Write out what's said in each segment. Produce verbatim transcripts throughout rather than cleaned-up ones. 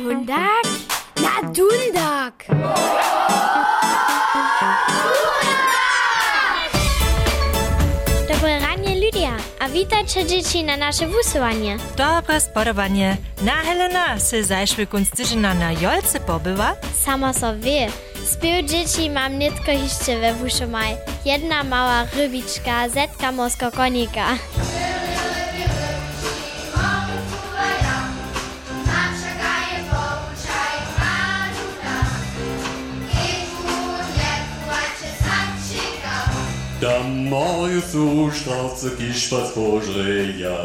Dundag? Na Dundag! Dobre ranie, Lydia. A witajcie dzieci na nasze wusowanie. Dobre spodobanie. Na Helena se zajszły kunstyżyna na Jolce pobywa? Samo so wie. Spiew dzieci mam nitko jeszcze we wuszomaj. Jedna mała rybiczka, zetka mosko konika. Da moje Zustrauze gießt was vorschläger.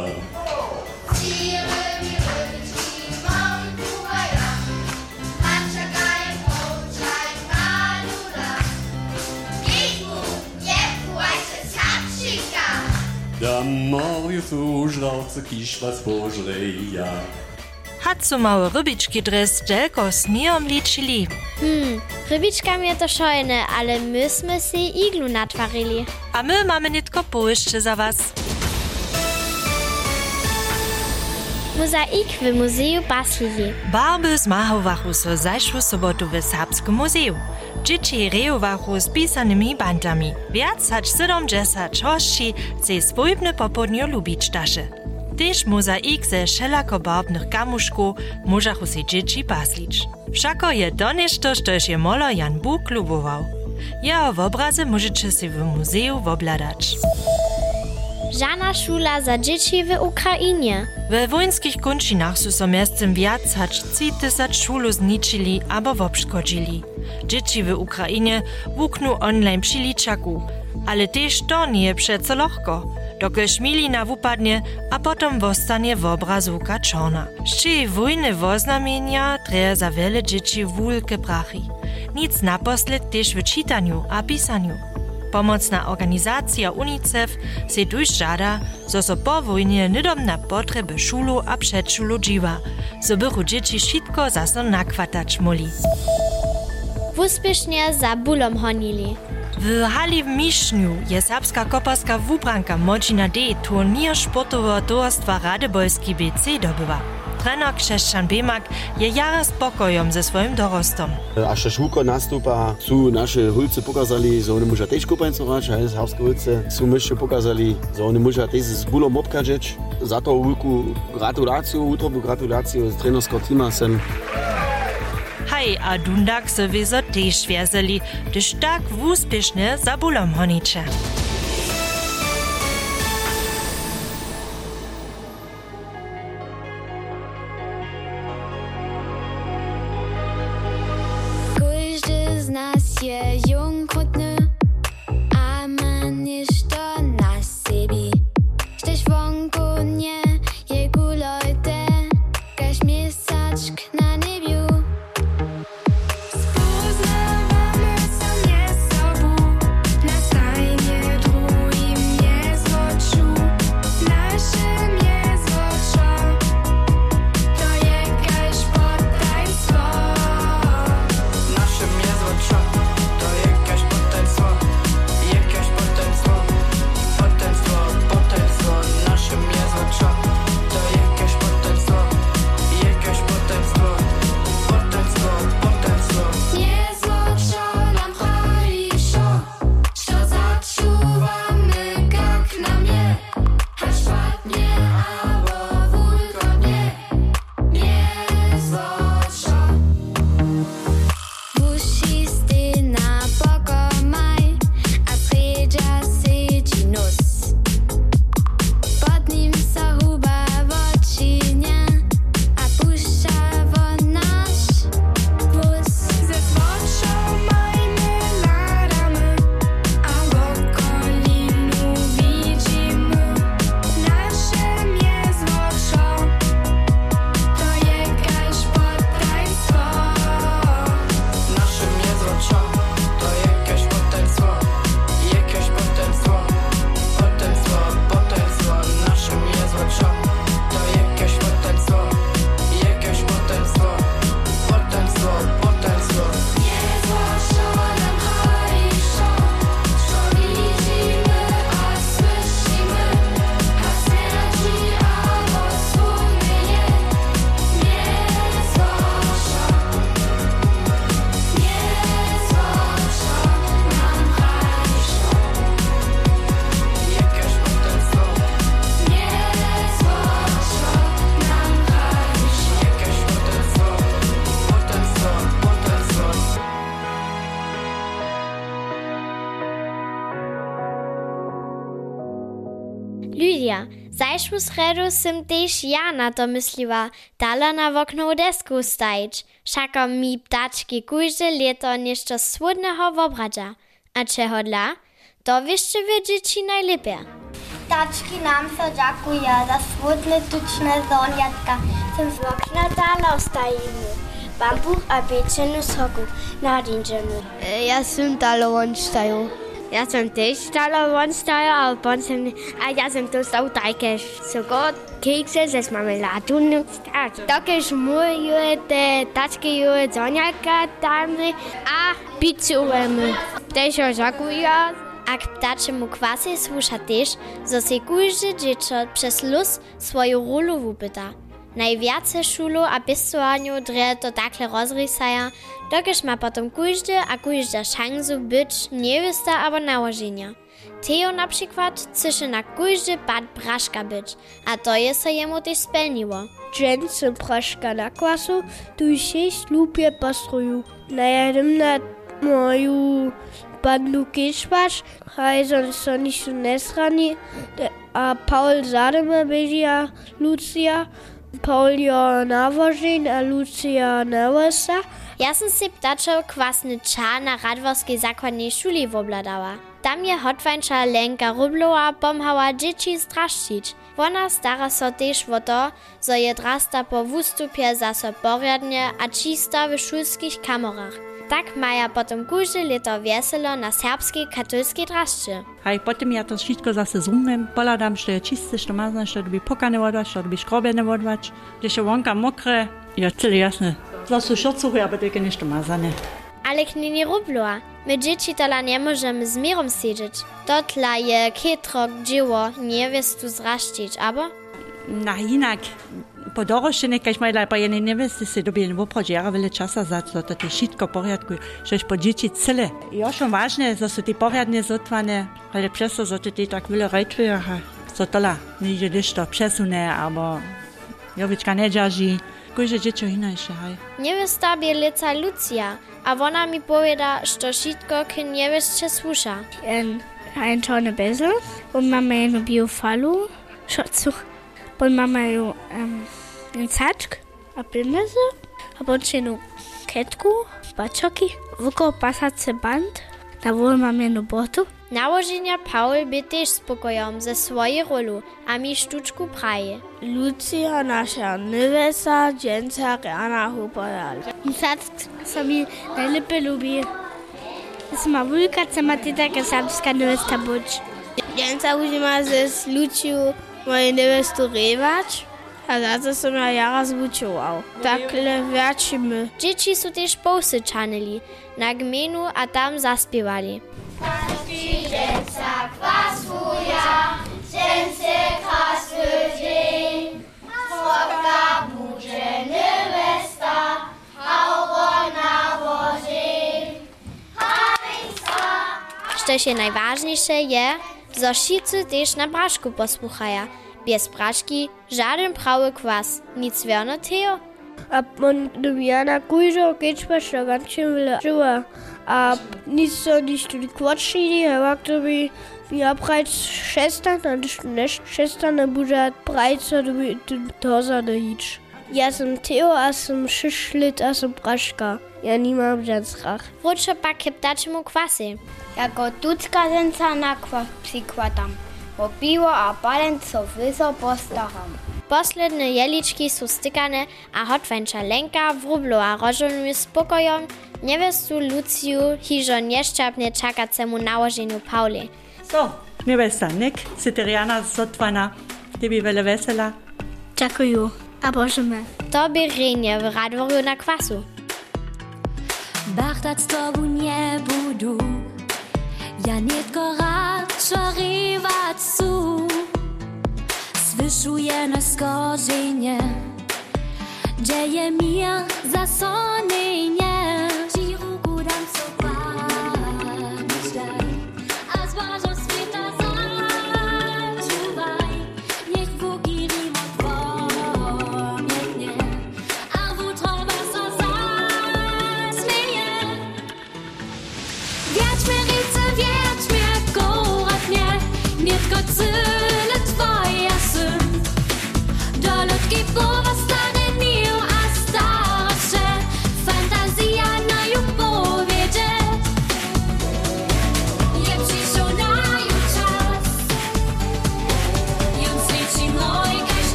Da moje Zustrauze gießt was vorschläger. Hat so małe rybiczki dres dżelko sniom liczyli. Hmm, rybiczkam je to szojne, ale myśmy si iglu natwarili. A my mamy nitko połyszcze za was. Mozaik w muzeju Baslili. Barby zmachowachu so zajszły sobotu w Serbskim muzeju. Dzieci rejowachu z pisanymi bandami. Wiac hać siedemdziesiąt hości se swojbne popodnio lubić dasze. Tež mozaik ze wszelakobarbnych kamuszków możachu se dzieci paslić. Wszako je to nešto, štož je molo Jan Buk lubował. Jeho obrazy możecie si w muzeju wobladać. Żana szula za dzieci w Ukrainie. We wojnskich končinach su so miestem viac hač tři tysac šulu zničili abo wobškodzili. Dzieci w Ukrainie wuknu online přiličaku, ale tež to nie przeco lohko. Dokelž milina wupadnie, a potom wostanie w obrazówka czona. Szczy wojny woznamienia treje za wiele dzieci wulke prachy. Nic naposled też w czytaniu a pisaniu. Pomocna organizacja UNICEF se tuż żada, zo so po wojnie nidom na potrzeby szulu a przedszulu dziwa, so bychu dzieci szybko zaso nakwatać moli. Wuspiesznie za bulom honili. W hali w Mišňu je serbska koparska wubranka Modzina D. turnier sportowo towarstwa Radebolski B C dobywa. Trener Krzeszczan Bemak je jara spokojom ze swoim dorostom. A še šuko nastupa, su naše hulce pokazali, że one musia też kupańcować, a serbskie hulce su myście pokazali, że one musia też z bulom obkażeć. Za to wielką gratulację, utrobną gratulację z trenerskiego teama sem. Hej, a Dundag se wieso też wierzeli, gdyż tak wuspiesznie za bulom honicze. Każdy z nas je jungkrutny, a ma ništo na sebi. Štež vonku nie je gulojte, kaž měsačk na nebiu. Spoznávame sa nie sobu, na stajne Zajszłu sredu sem też ja na to mysliła, dala na wokno desku stajć. Šako mi ptački kujże leto nešto słodnego wobradza. A czego dla? To wieszcie wy dzieci najlepiej. Ptački nam so dziękuję za słodne, tuczne zoniatka. Sem z okna dala ostajemy. Bambuch a pieczenu soku nadinczymy. Ja sam dala wonstają. Ja sam też dala wonstają, a potem, a ja sam dostał takie sogo, keksy ze marmeladą. Takie szmuje te taczki zoniatka damy, a pizzujemy. Też dziękuję. A k ptaczemu kwasy słucha też, że se kujże dziecko przez luz swoją rolu wupyta. Najwiace szulu a pisowaniu dre to takle rozrysaja, dokiż ma potom kujże a kujże szansu być niewysta albo nałożenia. Teo na przykład chce na kujże bad braszka być, a to je se jemu też spełniło. Dżęce braszka na kwasu, tu sześć lupie pastruju. Najadem na moju bandu kiszpasz, hajzon so nisu nesrani, a Paul zademe bežia Lucia, Paul jo nawožin, a Lucia nawosa. Ja sam si ptačo kwasny ča na Radworskiej zakładnej szuli wobladała. Tam je hotwańcza Lenka Rublowa pomhała dzieci straszczyć. Ona stara so też o to, że je drasta po wustupie zaso porядnie a czysto w szulskich kamorach. Tak maja potom kujże leto weselo na serbskiej katolskiej draszczy. A potem ja to wszystko zase zrumem, poladam, że je czyste, że mazne, że by pokane wodwać, że by skrobiene wodwać, że się wonka mokre, ja tyle jasne. Zase szorcuchy, aber tylko nie mazane. Ale knini Rublowa, my dzieci tola nie możemy z mirom siedzieć. Dotla je kietro dzieło niewestu zraszczyć, abo? Na inak, po doroższenie, kaž mają po jednej niewesty się dobie w obchodzie, wiele czasu za to, to jest wszystko w porządku, żeś po dzieci cele. I schon ważne, że są te porządnie zotwane, ale przez to, że te tak wiele rejtwy, że tola, nie idzie jeszcze przesunę, albo jowiczka nie dzierży. Kujże dzieci inaczej, haj. Niewesta bielica Lucia, a ona mi powiada, że wszystko k niewestce słucha. Ein, ein czarny bezel, und mamy jedną biofalu, szorcuch, und mamy ją um, einen caczk, a pilmeze, a potem jedną ketku, baczoki, wokół pasace band, na wol mamy jedną botu. Nałożenia Paul by też spokojom ze swojej rolu, a mi sztuczku praje. Lucia, nasza niewesta, dzięca, Rana, Hupodal. Caczk sobie najlepiej lubi. Jest ma wulka, co ma ty taka serbska niewesta być. Dzięca użyma ze z Luciu moje niewestu rewać, a za to som ja jara zvučoval. Takle wracimy. Dzieci są też posyczanyli na gminu, a tam zaspiewali. Dzięca kwasuja, dzięce krasny dzień, słodka budzie niewesta, a ona wozi. Co się najważniejsze je, że wszyscy też na braszku posłuchają. Bez braszki żaden prawy kwas, nic wierno teo. A on ja na kujżo kiečpaš to gančem vile živa. A nic so nič tudi kvačili, a to by ja prajc šestan, a neš šestan ne bude prajc, to by to za ne hič. Ja sam Teo, a sam šeš let, a sam praška. Ja nimam ženskach. Wróćo pak k ptaczemu kwasy. Jako tucka ženca na kwas przykładam, bo piwo a palent so wyso postacham. Posledne jeliczki są stykane, a hotwańcza Lenka Wróblowa rozżonuje spokojom niewestu Luciu hižo nieszczapnie czakacemu nałożeniu Pauli. So, niewesta, nek, syteriana zotwana, tebi wiele wesela. Dziękuję, a bożemy. To by renie w Radworju na kwasu. Bachtat z tobą nie budu, ja nitko rad szoriwać su. Zwyszuje na skorzenie, dzieje mi zasonienie. Ci ruku dam so patrzaj, a zważo świta zaczuwaj. Niech Bogi rim odwołnie, a wutrowa so zasmieje. Wiać mnie rice, wiać mnie korat mnie, nitko cyle twoja syn.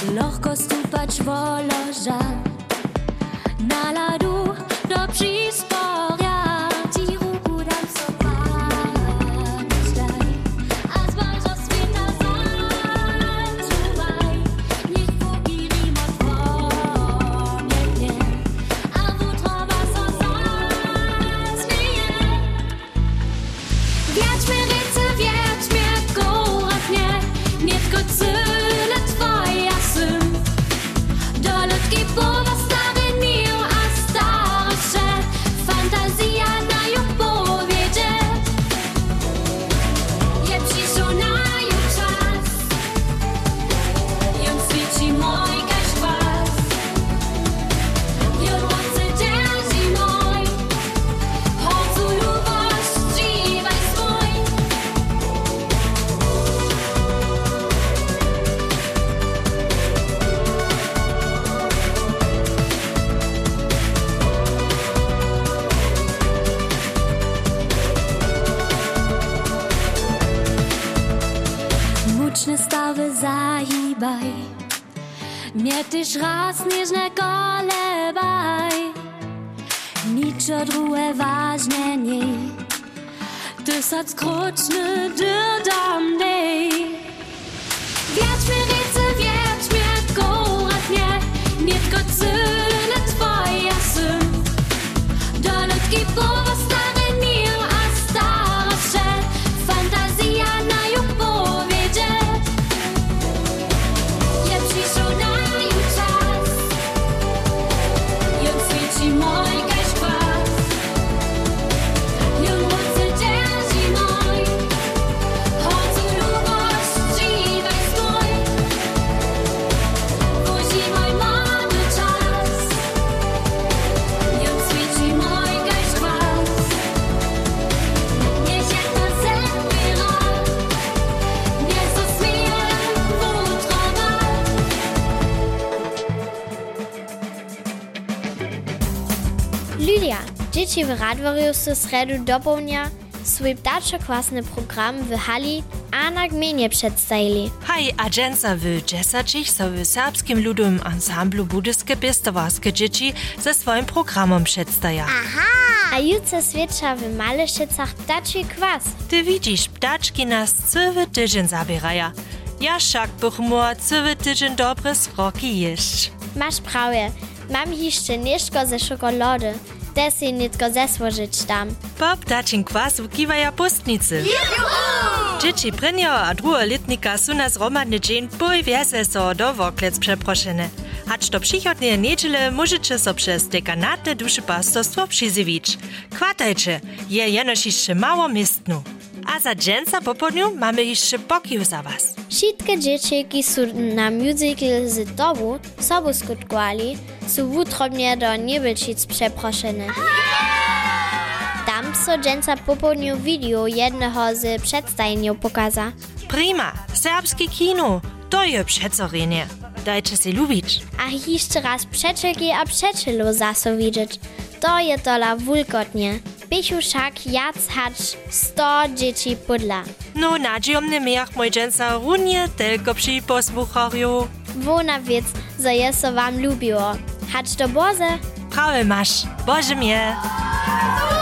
Lohko stupać woloża, na ladu do przysporia, ci ruku dam sobaczaj, a zbożo świta zaczuwaj, niech póki rimo dwonie dnie, a wutrowa so zasmieje. Wiać mnie ręce, wiać mnie górat mnie, nie tylko cyle twoja syn. Do ludki powa stary mił, a starsze fantazja na ją powiedzieć. Je przyszło na ją czas, ją świeci mój kaś was, ją mocy dzierży mój, chodzu lubość żywaj swój. Muczne stawy zahibaj, mnie tyż raz nieżne kolebaj. Niczo drugie ważne nie, ty sad skroczny dodam nej. Wiać mnie ręce, wiać mnie górat mnie, nie tylko cyle twoja syn. Do ludki powa stary mił, a starsze fantazja na ją powiedzieć. Je przyszło na ją czas, ją świeci mój kaś kwas, ją mocy dzierży mój, chodzu lubość żywaj swój. Wozi mój młody czas, ją świeci mój kaś kwas. Niech jak na zęby rok, niech zasmieje wutrowa. Lydia, dzieci w Radworju w sredu dopołudnia swój ptaczokłasny program w hali a na gminie przedstawili. Haj, a dżęca w dziesięciach so w serbskim ludowym ansamblu Budyske Piestowarskie dzieci ze swoim programom przedstaja. A jutro świecza w Malešicach ptaczy kwas. Ty widzisz, ptaczki nas cały tydzień zabieraja. Ja však bych mógł cały tydzień dobre sroki jeść. Masz prawie, mam jeszcze nieszko ze czekolady. Te si nitko zesłożyć tam. Po ptaczym kwasu kiwaja pustnicy. Dzieci prynio a drugie letnika są na zromadny dzień bój wiese so do woklec przeproszene. Hacz do przychodnie niedziele możecie so przez dekanatne duszepastorstwo przyzywić. Kwatajcie, je jenoż jeszcze mało miestnu. A za dżęca po południu mamy jeszcze pokój za was. Wszystkie dzieciaki są na musical z tobą sobu skutkowali, są wutrobnie do Niebelčic przeproszene. Tam so dżęca po południu video jednego z przedstawień pokaza. Prima, serbskie kino, to je przecorenie. Dajcie się lubić. A jeszcze raz przeczelki a przeczelu zaso widzieć. To je tola wulkotnie. Bychu však jac hacz sto dzieci pudla. No, nadziejomny miach mój dżęca runie tylko przy posłuchariu. Wona wiec, że je so wam lubiło. Hacz do Boże. Prawie masz. Boże mnie.